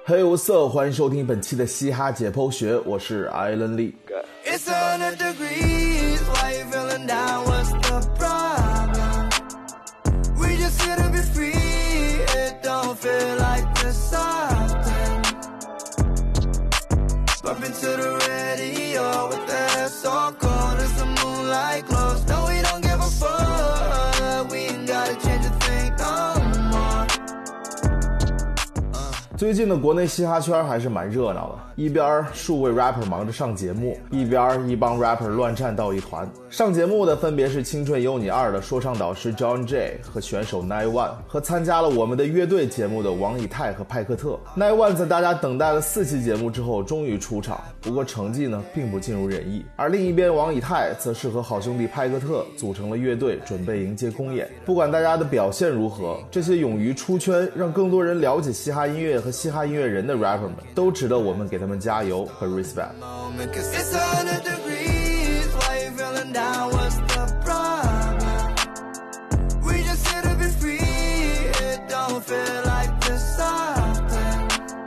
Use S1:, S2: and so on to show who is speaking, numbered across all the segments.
S1: Hey what's up， 欢迎收听本期的嘻哈解剖学，我是艾伦利。
S2: It's 100 degrees, why you feeling down, what's the problem? We just here to be free, it don't feel like this often. Bump into the radio with the hair so cold as the moonlight glows. No, we don't give a fuck, we ain't gotta change a thing no more.
S1: 最近的国内嘻哈圈还是蛮热闹的，一边数位 rapper 忙着上节目，一边一帮 rapper 乱战到一团。上节目的分别是青春有你2的说唱导师 John J 和选手 9-1， 和参加了我们的乐队节目的王以太和派克特。9-1在大家等待了4期节目之后终于出场，不过成绩呢并不尽如人意。而另一边王以太则是和好兄弟派克特组成了乐队，准备迎接公演。不管大家的表现如何，这些勇于出圈让更多人了解嘻哈音乐和嘻哈音乐人的 rapper 们都值得我们给他们加油和 respect。
S2: It's 100 degrees, why you feeling down, what's the problem? We just here to be free, it don't feel like this often.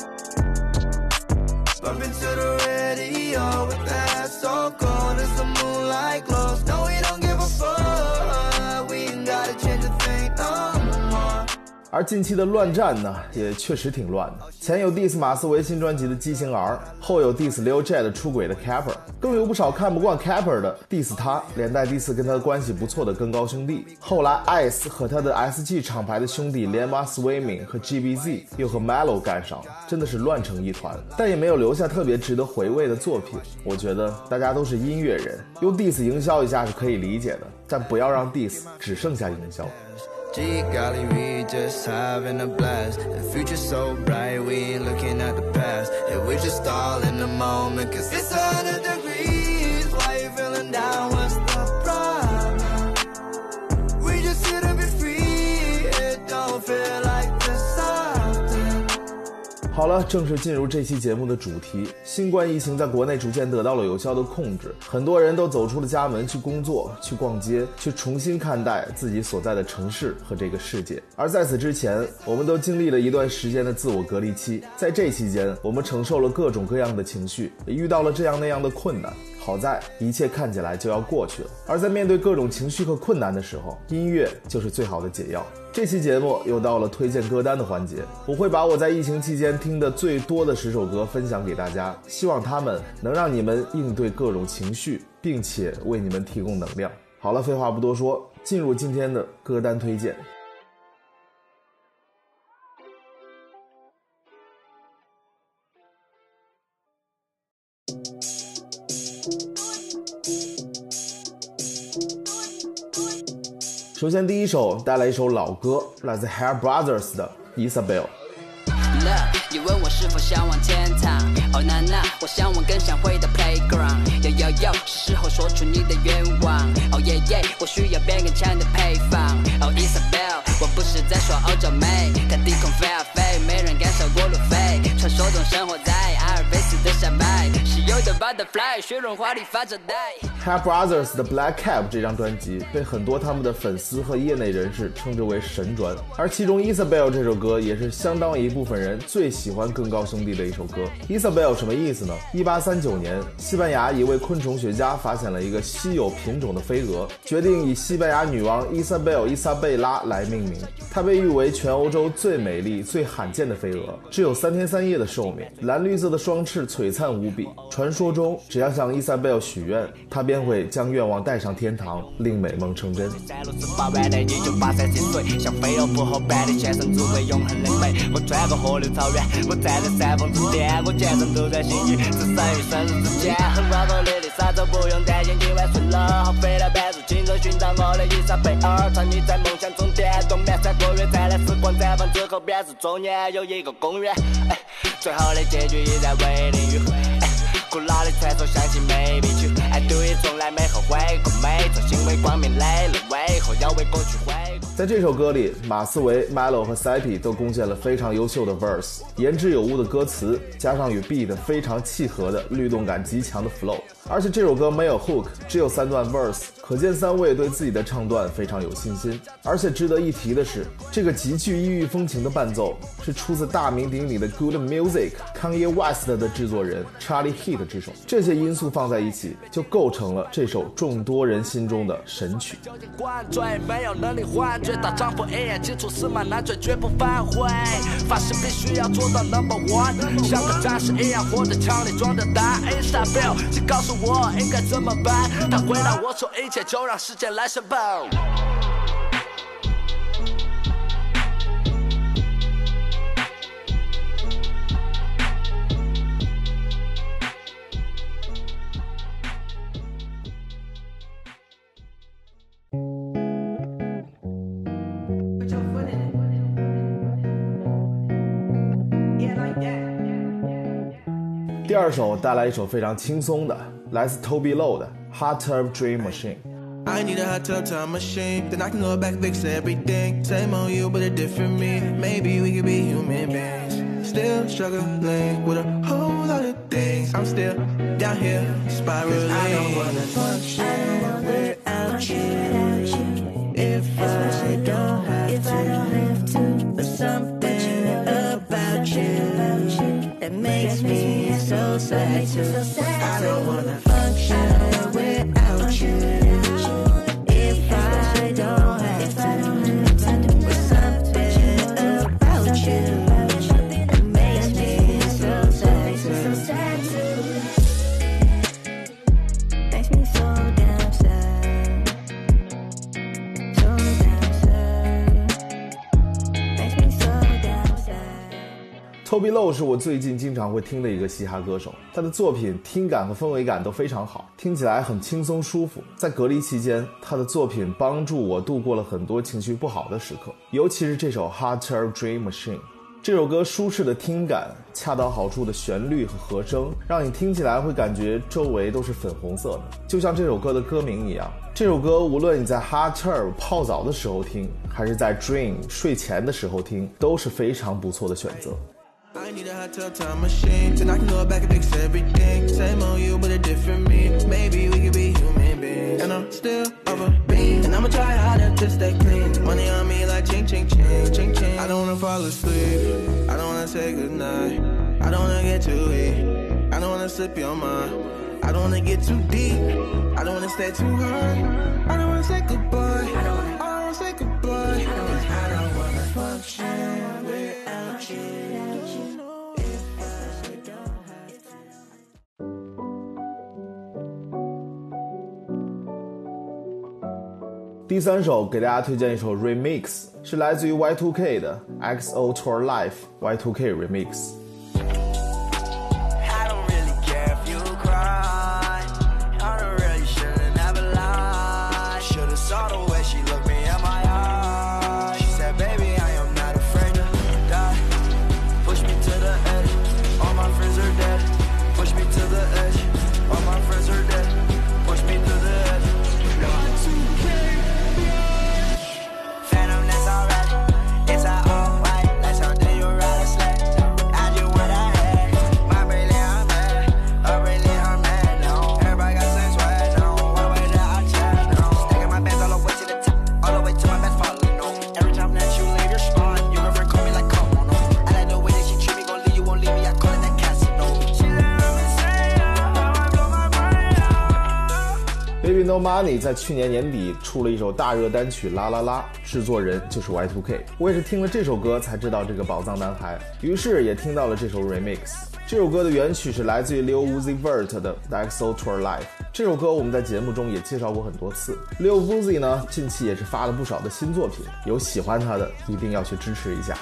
S2: Bump into the radio with the hair so cold as the moonlight glows. No, we don't give a fuck, we ain't gotta change a thing no more.
S1: 而近期的乱战呢也确实挺乱的，前有 diss 马思唯新专辑的畸形 R， 后有 diss Lil J 的出轨的 Capper， 更有不少看不惯 Capper 的 diss 他，连带 diss 跟他关系不错的更高兄弟。后来 Ice 和他的 SG 厂牌的兄弟连马 Swimming 和 GBZ 又和 Melo 干上了，真的是乱成一团，但也没有留下特别值得回味的作品。我觉得大家都是音乐人，用 diss 营销一下是可以理解的，但不要让 diss 只剩下营销。
S2: Gee golly, we just having a blast. The future's so bright, we ain't looking at the past. And we're just all in the moment, cause it's 100 degrees. Why you feeling down, what's the problem? We just here to be free, it don't feel like this often.
S1: 好了，正式进入这期节目的主题。新冠疫情在国内逐渐得到了有效的控制，很多人都走出了家门去工作、去逛街，去重新看待自己所在的城市和这个世界。而在此之前，我们都经历了一段时间的自我隔离期，在这期间，我们承受了各种各样的情绪，也遇到了这样那样的困难。好在一切看起来就要过去了，而在面对各种情绪和困难的时候，音乐就是最好的解药。这期节目又到了推荐歌单的环节，我会把我在疫情期间听的最多的10首歌分享给大家，希望他们能让你们应对各种情绪，并且为你们提供能量。好了，废话不多说，进入今天的歌单推荐。首先第一首带来一首老歌，来自 Hair Brothers 的 Isabel。
S3: 你问我是否向往天堂，哦娜娜，我向往更想回到 playground。是时候说出你的愿望，哦耶耶，我需要变更强的配方。哦 Isabel， 我不是在说欧洲妹，看低空飞啊飞，没人敢超过路飞。传说中生活在阿尔卑斯的山脉，稀有的 butterfly， 雪绒花里发着呆。
S1: Hair Brothers 的 Black Cap 这张专辑被很多他们的粉丝和业内人士称之为神专，而其中 Isabel 这首歌也是相当一部分人最喜欢更高兄弟的一首歌。 Isabel 什么意思呢？1839年，西班牙一位昆虫学家发现了一个稀有品种的飞蛾，决定以西班牙女王 Isabel 伊莎贝拉来命名。它被誉为全欧洲最美丽、最罕见的飞蛾，只有3天3夜的寿命，蓝绿色的双翅璀璨无比。传说中，只要向 Isabel 许愿，她便会将愿望带上天堂，令美梦成真。
S3: 在如此饱满的1983岁，像飞蛾扑后般的全身只为永恒的美。我穿过河流草原，我站在山峰之巅，我全身都在心语，置身于生死之间。很光和烈丽沙洲不用担心，今晚睡了好飞来半入青州，寻找我的伊莎贝尔，穿你在梦想中颠动漫3个月，灿烂时光绽放之后便是中年，有一个公园，最后的结局已在为你迂回。古老的传说相信没必去，爱对于从来没后悔过，每种行为光明磊落，为何要为过去悔过？
S1: 在这首歌里，马思唯、Melo 和 Seppi 都贡献了非常优秀的 verse， 言之有物的歌词，加上与 beat 非常契合的律动感极强的 flow， 而且这首歌没有 hook， 只有3段 verse， 可见三位对自己的唱段非常有信心。而且值得一提的是，这个极具异域风情的伴奏是出自大名鼎鼎的 Good Music Kanye West 的制作人 Charlie Heat 之手。这些因素放在一起，就构成了这首众多人心中的神曲。
S3: 没有能力换绝大丈夫一眼基础司马南嘴绝不反悔，发誓必须要做到 No.1， 像个战士一样活着，枪里装着弹。Isabel， 请告诉我应该怎么办？他回答我说一切就让时间来申报。
S1: 第二首带来一首非常轻松的，来自 Toby Low 的 Hot Tub Dream Machine。I
S4: need a hot tub time machine, then I can go back fix everything. Same on you, but a different me. Maybe we could be human beings. Still struggling with a whole lot of things. I'm still down here spiraling. I don't wanna function without you. If I don't have to, but something about you that makes me so sad too. I don't wanna function without you.
S1: Toby Low 是我最近经常会听的一个嘻哈歌手，他的作品听感和氛围感都非常好，听起来很轻松舒服。在隔离期间，他的作品帮助我度过了很多情绪不好的时刻，尤其是这首 Hot Tub Dream Machine。这首歌舒适的听感，恰到好处的旋律和和声，让你听起来会感觉周围都是粉红色的，就像这首歌的歌名一样。这首歌无论你在 Hot Tub 泡澡的时候听，还是在 Dream 睡前的时候听，都是非常不错的选择。
S4: I need a hot tub time machine, then I can go back and fix everything. Same on you, but a different me. Maybe we could be human beings. And I'm still over being, and I'ma try harder to stay clean. Money on me like ching ching ching ching ching. I don't wanna fall asleep, I don't wanna say goodnight, I don't wanna get too weak, I don't wanna slip your mind, I don't wanna get too deep, I don't wanna stay too high, I don't wanna say goodbye, I don't wanna say goodbye, I don't wanna function without you.
S1: 第三首给大家推荐一首 remix， 是来自于 Y2K 的 XO Tour Life Y2K Remix。No Money 在去年年底出了一首大热单曲啦啦啦，制作人就是 Y2K。 我也是听了这首歌才知道这个宝藏男孩，于是也听到了这首 remix。 这首歌的原曲是来自于 Lil Uzi Vert 的 XO Tour Life。 这首歌我们在节目中也介绍过很多次。 Lil Uzi 呢近期也是发了不少的新作品，有喜欢他的一定要去支持一下。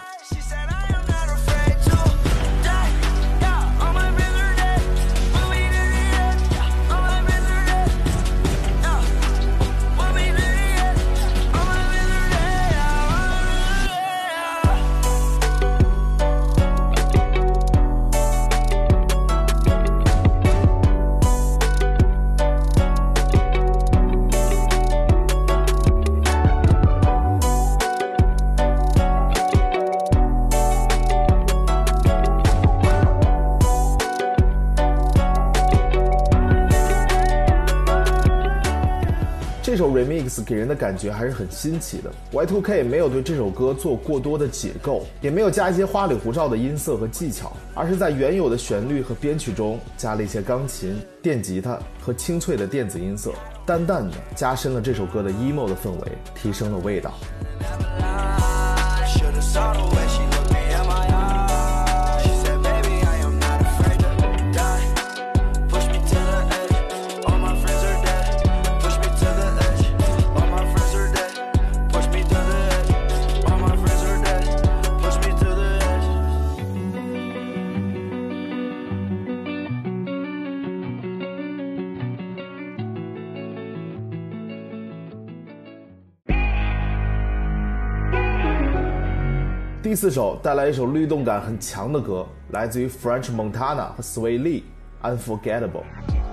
S1: 首 remix 给人的感觉还是很新奇的。Y2K 没有对这首歌做过多的解构，也没有加一些花里胡哨的音色和技巧，而是在原有的旋律和编曲中加了一些钢琴、电吉他和清脆的电子音色，淡淡的加深了这首歌的 emo 的氛围，提升了味道。第4首带来一首律动感很强的歌，来自于 French Montana 和 Sway Lee， Unforgettable。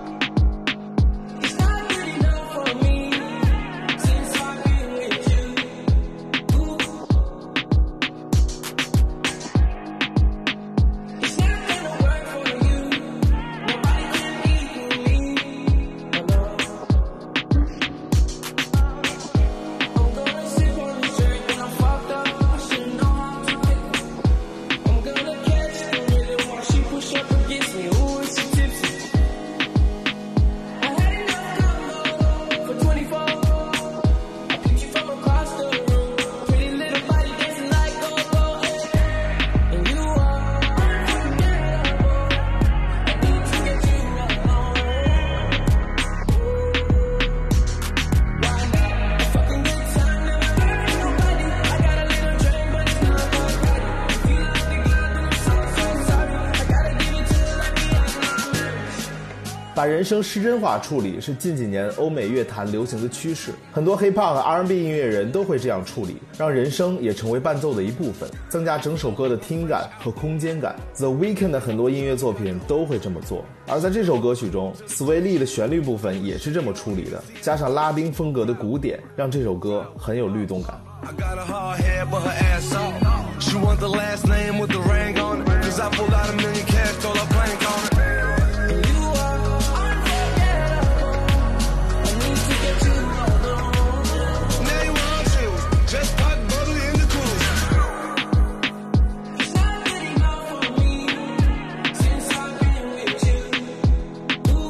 S1: 把人声失真化处理是近几年欧美乐坛流行的趋势，很多 Hip-Hop 和 R&B 音乐人都会这样处理，让人声也成为伴奏的一部分，增加整首歌的听感和空间感。The Weeknd 的很多音乐作品都会这么做，而在这首歌曲中 Sway Lee 的旋律部分也是这么处理的，加上拉丁风格的鼓点，让这首歌很有律动感。I got a hard head, but her ass off. She want the last name with the ring on it. Cause I pulled out $1 million cash, throw her blank on it. You are unforgettable. I need to get you alone. Now you want you. Just pop bubbly in the cooler. It's not good enough for me since I've been with you.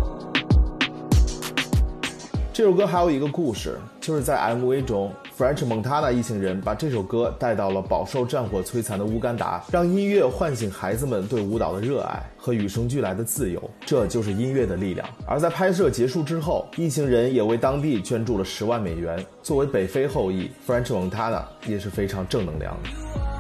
S1: 这首歌还有一个故事，就是在 MV 中French Montana 一行人把这首歌带到了饱受战火摧残的乌干达，让音乐唤醒孩子们对舞蹈的热爱和与生俱来的自由，这就是音乐的力量。而在拍摄结束之后，一行人也为当地捐助了10万美元。作为北非后裔 ，French Montana 也是非常正能量的。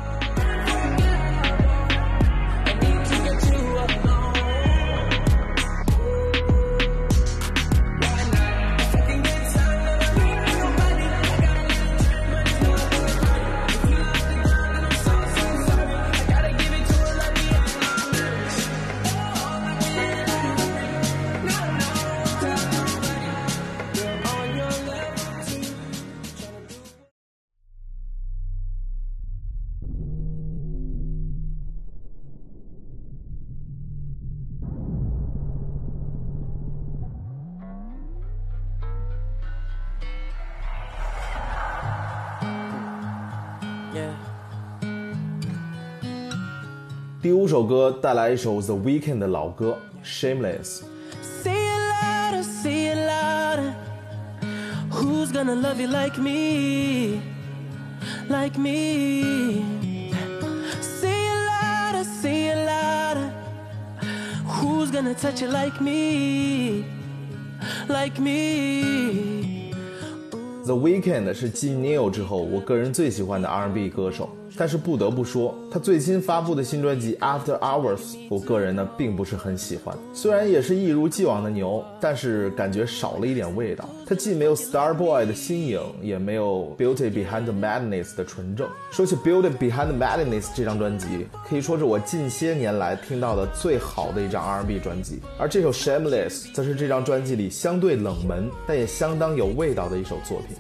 S1: 第5首歌带来一首 The Weeknd 的老歌 Shameless。
S5: Say it louder, say it louder. Who's gonna love you like me? Like me. Say it louder, say it louder. Who's gonna touch you like me? Like me.
S1: The Weeknd 是继 Neil 之后我个人最喜欢的 R&B 歌手，但是不得不说，他最新发布的新专辑 After Hours 我个人呢并不是很喜欢。虽然也是一如既往的牛，但是感觉少了一点味道。他既没有 Starboy 的新颖，也没有 Beauty Behind the Madness 的纯正。说起 Beauty Behind the Madness 这张专辑，可以说是我近些年来听到的最好的一张 R&B 专辑，而这首 Shameless 则是这张专辑里相对冷门但也相当有味道的一首作品。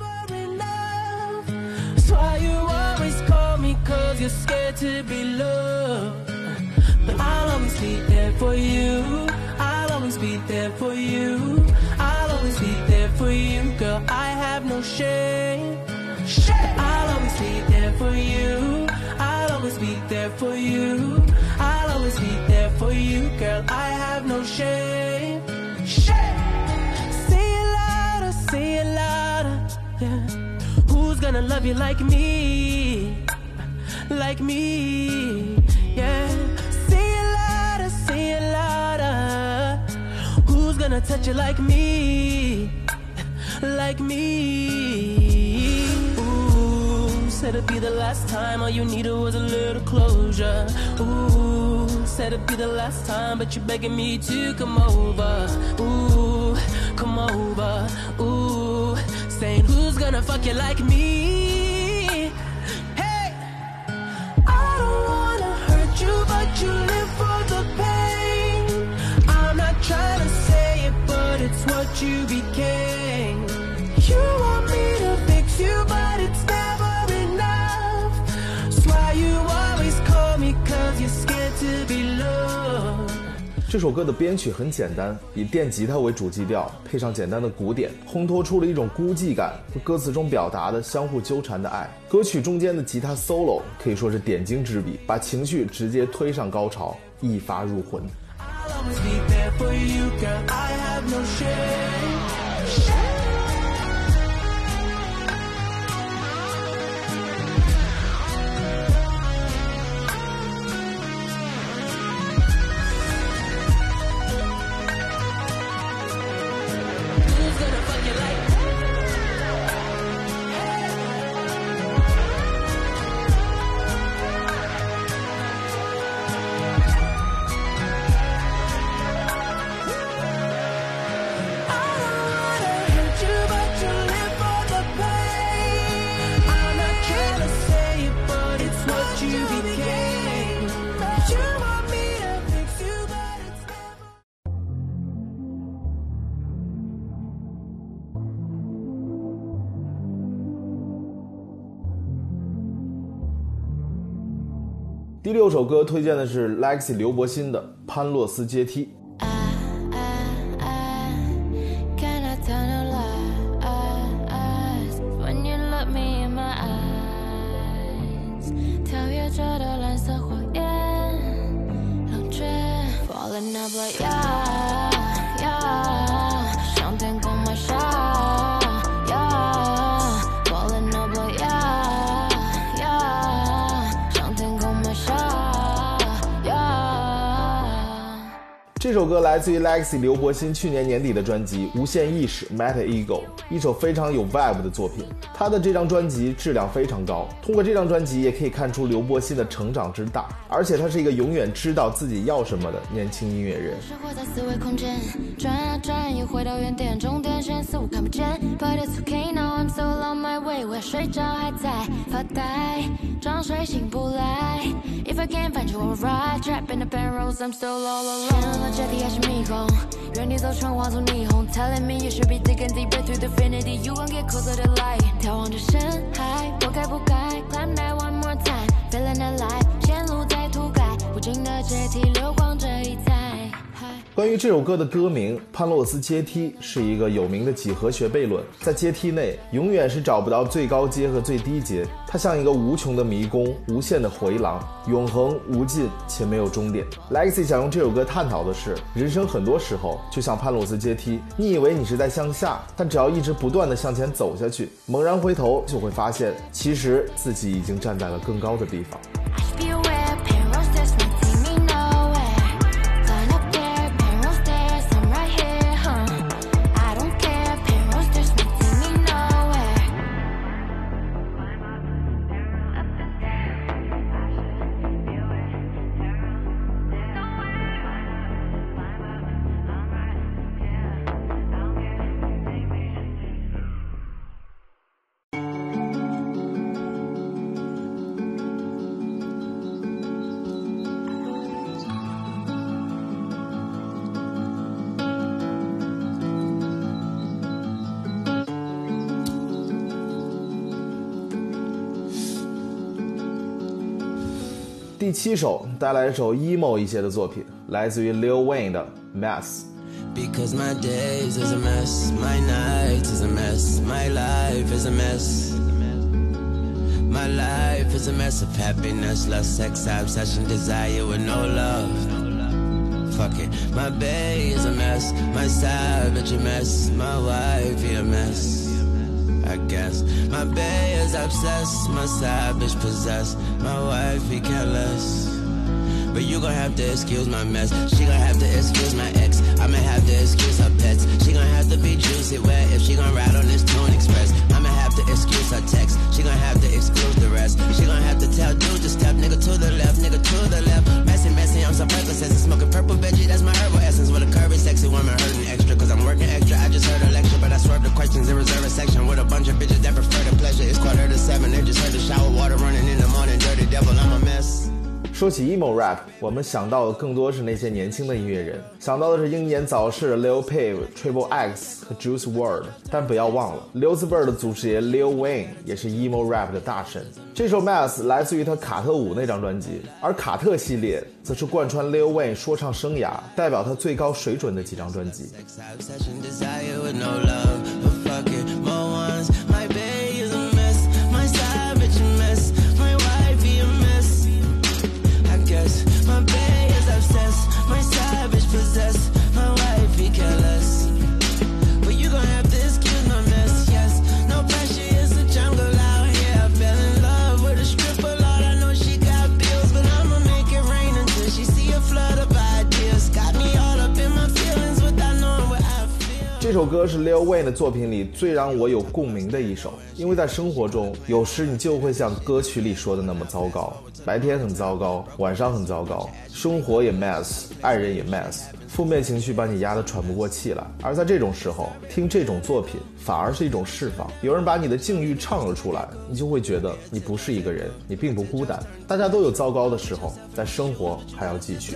S5: Cause you're scared to be loved, but I'll always be there for you. I'll always be there for you. I'll always be there for you, girl. I have no shame. I'll always be there for you. I'll always be there for you. I'll always be there for you, girl. I have no shame. Say it louder, say it louder, yeah. Who's gonna love you like me? Like me, yeah. Say it louder. Who's gonna touch you like me? Like me. Ooh, said it'd be the last time. All you needed was a little closure. Ooh, said it'd be the last time, but you're begging me to come over. Ooh, come over. Ooh, saying who's gonna fuck you like me? Hey, I don't wanna hurt you, but you live for the pain. I'm not trying to say it, but it's what you became. You want me to fix you, but it's never enough. That's why you always call me, cause you're scared to be loved.
S1: 这首歌的编曲很简单，以电吉他为主基调，配上简单的鼓点，烘托出了一种孤寂感和歌词中表达的相互纠缠的爱。歌曲中间的吉他 solo 可以说是点睛之笔，把情绪直接推上高潮，一发入魂。
S5: I'll always be there for you, girl. I have no shame. Who's gonna fuck you like
S1: 第6首歌推荐的是 Lexi 刘柏辛的《潘洛斯阶梯》。这首歌来自于 Lexi 刘柏辛去年年底的专辑《无限意识 Meta Ego》，一首非常有 vibe 的作品。他的这张专辑质量非常高，通过这张专辑也可以看出刘柏辛的成长之大，而且他是一个永远知道自己要什么的年轻音乐人。
S6: 生活在思维空间，转啊转，又回到原点，终点线似乎看不见。But it's okay now, I'm still on my way。我要睡着还在发呆，装睡醒不来。If I can't find you, I'll ride. Trapped in the barrels, I'm still all alone。天了阶梯还是迷宫，原地走成画出霓虹。Telling me you should be digging deeper through the infinity. You won't get closer to light。眺望着深海，我该不该 climb that one more time? Feeling alive， 线路在涂改，无尽的阶梯流光这一载。
S1: 关于这首歌的歌名《潘洛斯阶梯》是一个有名的几何学悖论，在阶梯内永远是找不到最高阶和最低阶，它像一个无穷的迷宫，无限的回廊，永恒无尽且没有终点。 Lexi 想用这首歌探讨的是，人生很多时候就像潘洛斯阶梯，你以为你是在向下，但只要一直不断地向前走下去，猛然回头就会发现，其实自己已经站在了更高的地方。第7首带来一首 emo 一些的作品，来自于 Lil Wayne 的 Mess。
S4: Because my days is a mess, my nights is a mess, my life is a mess. My life is a mess of happiness, lust, sex, obsession, desire with no love. Fuck it, my bae is a mess, my savage a mess, my wife a mess. I guess my bae is obsessed, my savage possessed, my wife careless. But you gon' have to excuse my mess. She gon' have to excuse my ex. I'ma have to excuse her pets. She gon' have to be juicy wet if she gon' ride on this Tune Express. I'ma have to excuse her text. She gon' have to exclude the rest. She gon' have to tell dude to step, nigga to the left, nigga to the left. Messy, messy, I'm some Percocets and smoking purple veggie. That's my herbal essence with a curvy, sexy woman hurting extra. Cause I'm working extra. I just heard a lecture, but I swerved the questions and reserve a section with a bunch of bitches that prefer the pleasure. It's 6:45. They just heard the shower water running in the morning. Dirty devil, I'm a mess.
S1: 说起 emo rap， 我们想到的更多是那些年轻的音乐人，想到的是英年早逝的 Lil Peep、Triple X 和 Juice WRLD， 但不要忘了溜字辈的祖师爷 Lil Wayne 也是 emo rap 的大神。这首 Mess 来自于他卡特5那张专辑，而卡特系列则是贯穿 Lil Wayne 说唱生涯，代表他最高水准的几张专辑。
S4: My bae is obsessed, my savage possessed, my wife careless. But you gon' have to excuse my mess, yes. No pressure, it's a jungle out here. I fell in love with a stripper, Lord, I know she got bills, but I'ma make it rain until she see a flood of ideas. Got me all up in my feelings without knowing what I feel.
S1: 这首歌是 Lil Wayne 的作品里最让我有共鸣的一首，因为在生活中，有时你就会像歌曲里说的那么糟糕，白天很糟糕，晚上很糟糕，生活也 mess， 爱人也 mess， 负面情绪把你压得喘不过气来。而在这种时候，听这种作品反而是一种释放。有人把你的境遇唱了出来，你就会觉得你不是一个人，你并不孤单。大家都有糟糕的时候，但生活还要继续。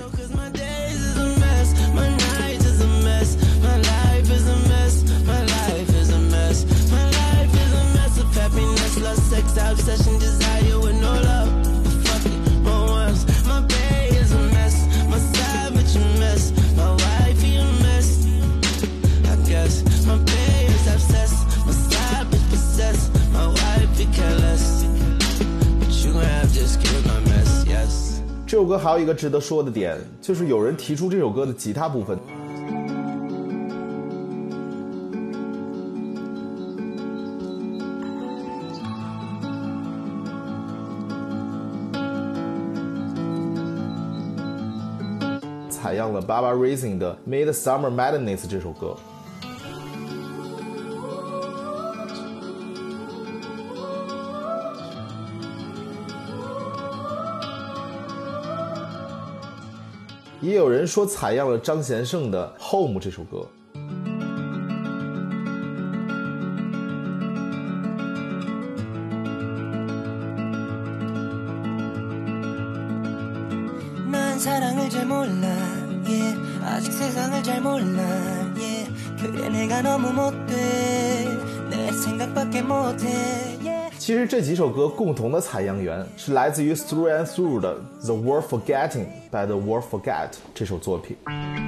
S4: Happiness, lust, sex, obsession, desire with no love. Fuck it, more ones. My bae is a mess, my savage a mess, my wife a mess. I guess my bae is obsessed, my savage possessed, my wife careless. But you gon' have to excuse my mess, yes.
S1: 这首歌还有一个值得说的点，就是有人提出这首歌的吉他部分。采样了 Baba Rising 的 Midsummer Madness 这首歌。也有人说采样了张贤胜的 Home 这首歌。其实这几首歌共同的采样源是来自于 Through and Through 的 The World Forgetting by The World Forget 这首作品。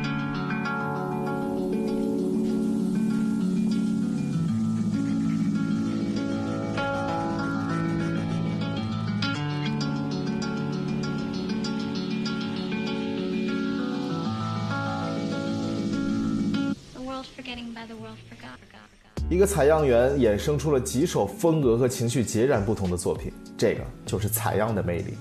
S1: 一个采样源衍生出了几首风格和情绪截然不同的作品，这个就是采样的魅力。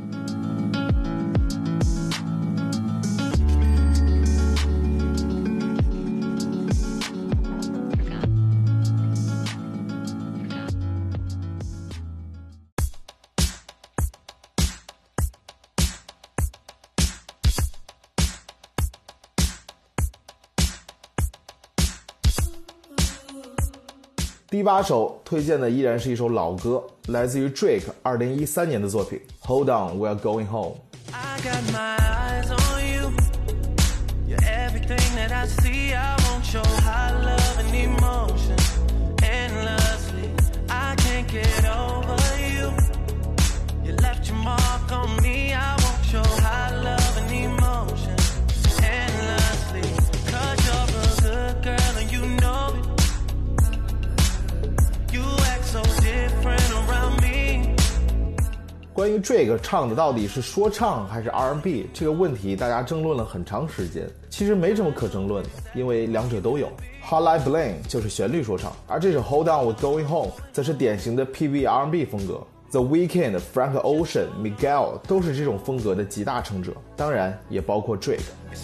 S1: 第8首推荐的依然是一首老歌，来自于 Drake 2013年的作品 Hold On We're Going Home。
S5: I got my eyes on you. You're everything that I see. I won't show high love and emotion endlessly. I can't get over you. You left your mark on me. I won't show high love and emotion endlessly. 'Cause you're
S1: 关于 Drake 唱的到底是说唱还是 R&B 这个问题，大家争论了很长时间。其实没什么可争论的，因为两者都有。Hotline Bling 就是旋律说唱，而这首 Hold On We're Going Home 则是典型的 PV R&B 风格。The Weeknd、Frank Ocean、Miguel 都是这种风格的极大成者，当然也包括 Drake。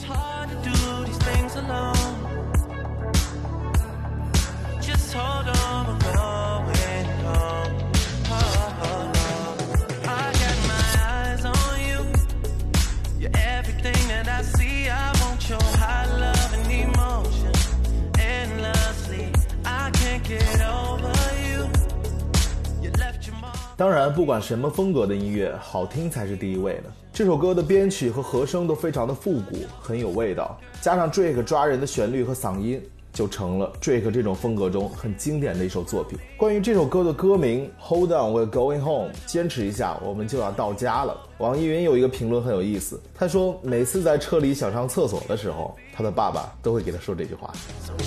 S1: 当然，不管什么风格的音乐，好听才是第一位的。这首歌的编曲和和声都非常的复古，很有味道，加上 Drake 抓人的旋律和嗓音，就成了 Drake 这种风格中很经典的一首作品。关于这首歌的歌名 Hold On We're Going Home， 坚持一下，我们就要到家了。网易云有一个评论很有意思，他说每次在车里想上厕所的时候，他的爸爸都会给他说这句话。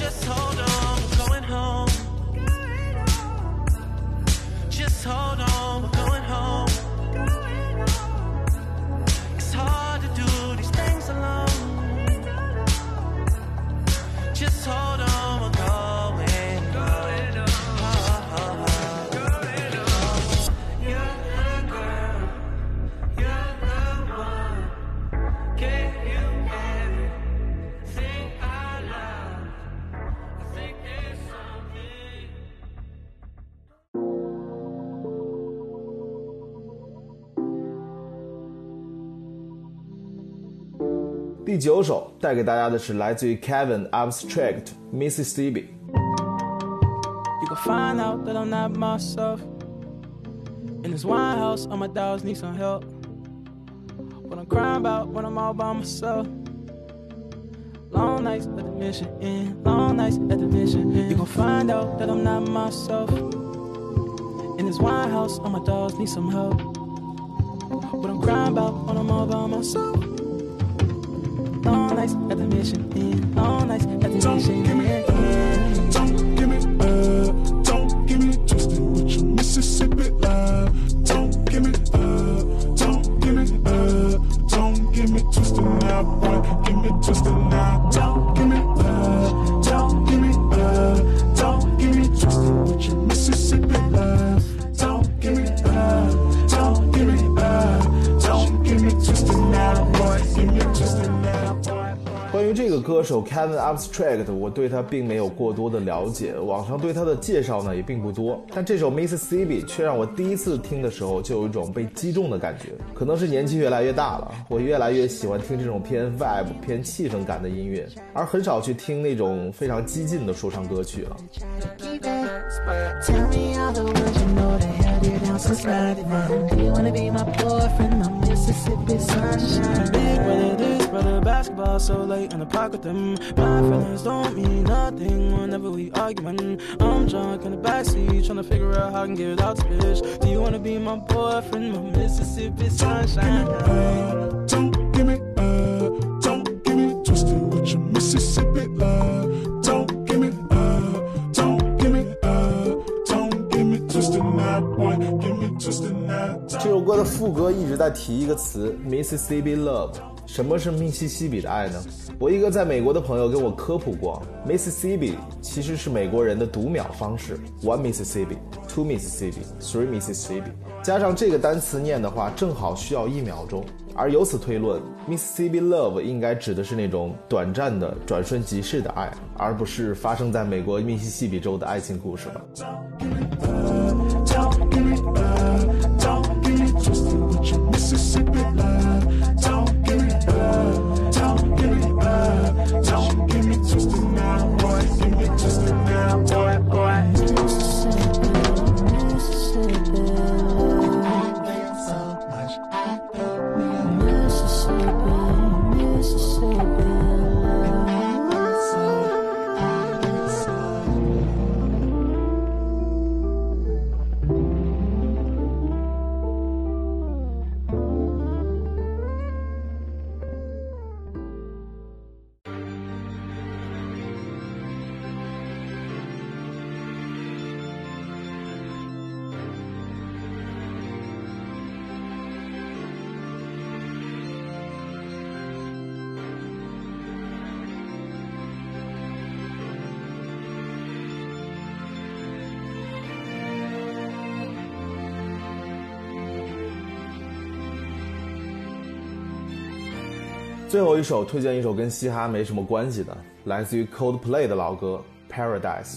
S5: Hold on, we're going home. It's hard to do these things alone. Just hold on, we're going home. You're the girl, you're the one. Gave you everything I love. I think there's something.
S1: 第9首带给大家的是来自于 Kevin Abstract Mississippi。
S5: You can find out that I'm not myself. In this wine house, all my dogs need some help. What I'm crying about when I'm all by myself. Long nights at the mission inn, long nights at the mission inn. You can find out that I'm not myself. In this wine house, all my dogs need some help. What I'm crying about when I'm all by myself.Long nights at the mission inn, long nights at the mission inn.
S7: Don't give me twisted with your Mississippi love. Don't give me twisted now, boy. Give me twisted now. Don't give me twisted with your Mississippi love. Don't give me twisted now, boy. Give me twisted now.
S1: 关于这个歌手 Kevin Abstract， 我对他并没有过多的了解，网上对他的介绍呢也并不多，但这首 Mississippi 却让我第一次听的时候就有一种被击中的感觉。可能是年纪越来越大了，我越来越喜欢听这种偏 vibe 偏气氛感的音乐，而很少去听那种非常激进的说唱歌曲了。
S8: Tell me all the words you know they held you down since 99. Do you wanna be my boyfriend, my Mississippi sunshine?
S5: Big brother this, brother basketball so late in the park with them. My feelings don't mean nothing whenever we arguing. I'm drunk in the backseat trying to figure out how I can get it out this bitch. Do you wanna be my boyfriend, my Mississippi sunshine?
S7: Don't give me twisted with your Mississippi love.Don't give me twisted now, boy. Give me twisted now.
S1: 这首歌的副歌一直在提一个词 Mississippi Love。什么是密西西比的爱呢？我一个在美国的朋友跟我科普过 Mississippi 其实是美国人的读秒方式 One Mississippi, Two Mississippi, Three Mississippi 加上这个单词念的话正好需要1秒钟，而由此推论 Mississippi Love 应该指的是那种短暂的转瞬即逝的爱，而不是发生在美国密西西比州的爱情故事吧。
S7: Don't give me twisted with your Mississippi love.Don't give me twisted now, boy. Give me twisted now, boy.
S8: Mississippi, Mississippi Mississippi, Mississippi
S1: 最后一首推荐一首跟嘻哈没什么关系的，来自于 Coldplay 的老歌 Paradise。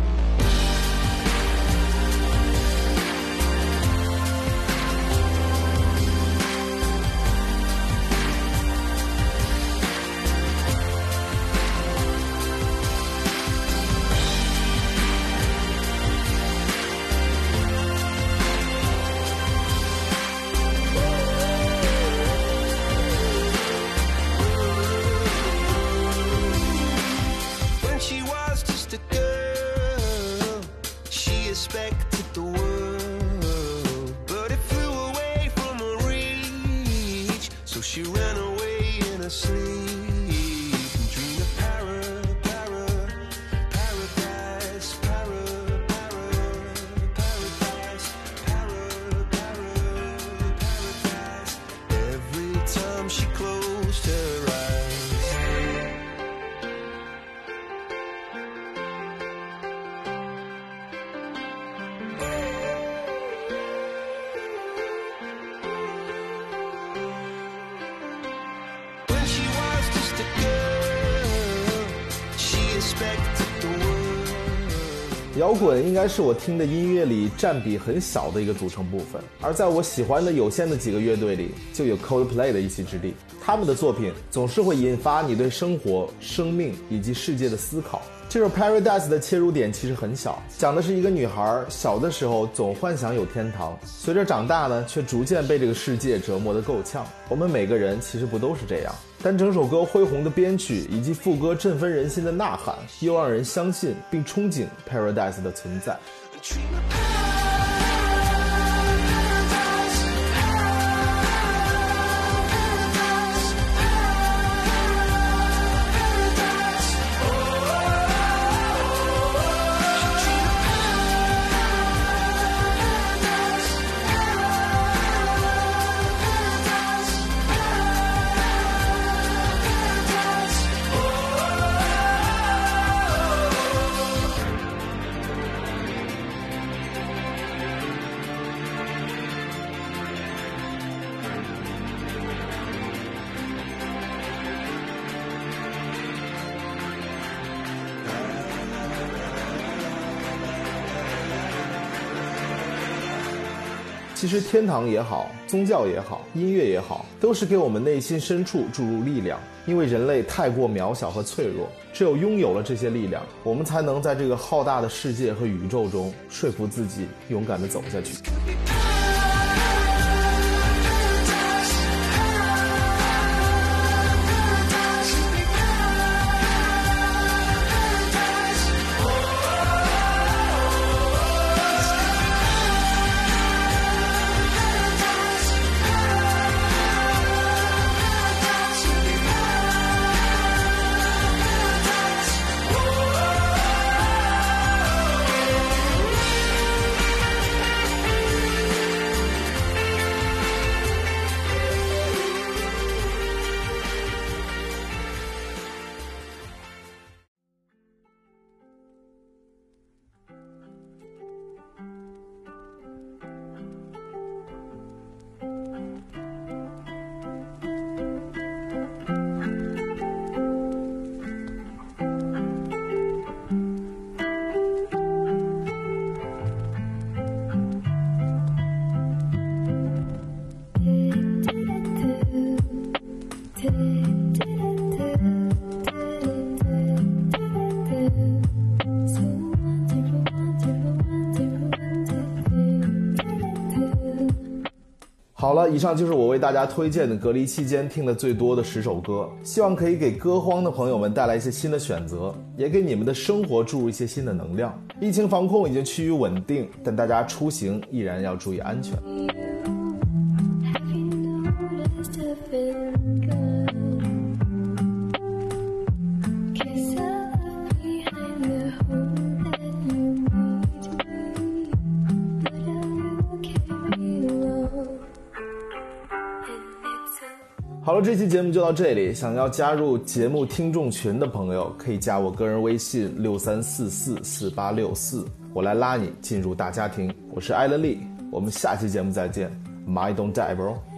S1: 摇滚应该是我听的音乐里占比很小的一个组成部分，而在我喜欢的有限的几个乐队里，就有 Coldplay 的一席之地。他们的作品总是会引发你对生活、生命以及世界的思考。这首 Paradise 的切入点其实很小，讲的是一个女孩小的时候总幻想有天堂，随着长大呢，却逐渐被这个世界折磨得够呛。我们每个人其实不都是这样？但整首歌恢宏的编曲以及副歌振奋人心的呐喊，又让人相信并憧憬 Paradise 的存在。其实天堂也好，宗教也好，音乐也好，都是给我们内心深处注入力量。因为人类太过渺小和脆弱，只有拥有了这些力量，我们才能在这个浩大的世界和宇宙中说服自己勇敢地走下去。好了，以上就是我为大家推荐的隔离期间听的最多的10首歌，希望可以给歌荒的朋友们带来一些新的选择，也给你们的生活注入一些新的能量。疫情防控已经趋于稳定，但大家出行依然要注意安全。好了，这期节目就到这里。想要加入节目听众群的朋友，可以加我个人微信63444864，我来拉你进入大家庭。我是艾伦利，我们下期节目再见。My don't die, bro.